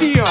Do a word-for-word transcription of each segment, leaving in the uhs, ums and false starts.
mania.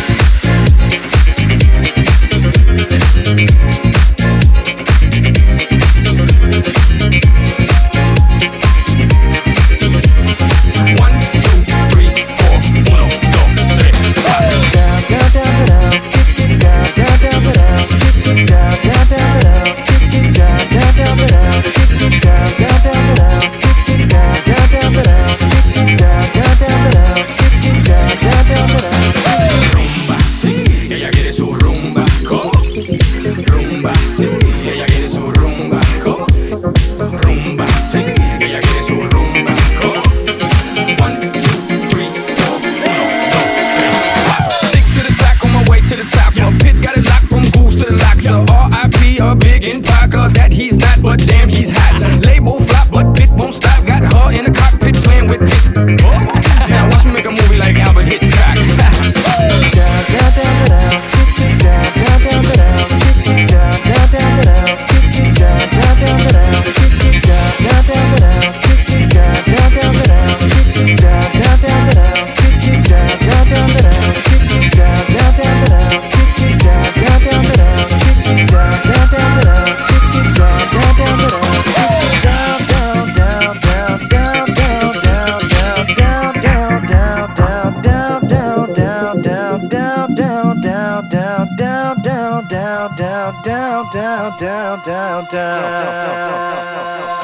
Down, down, down, down.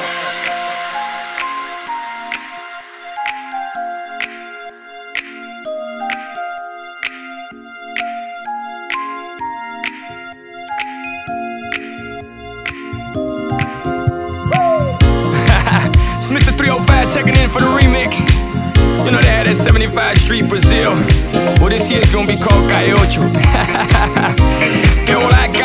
It's Mister three oh five checking in for the remix. You know they had that seventy-five Street Brazil. Well, this year's gonna be called Calle Ocho. Que hola,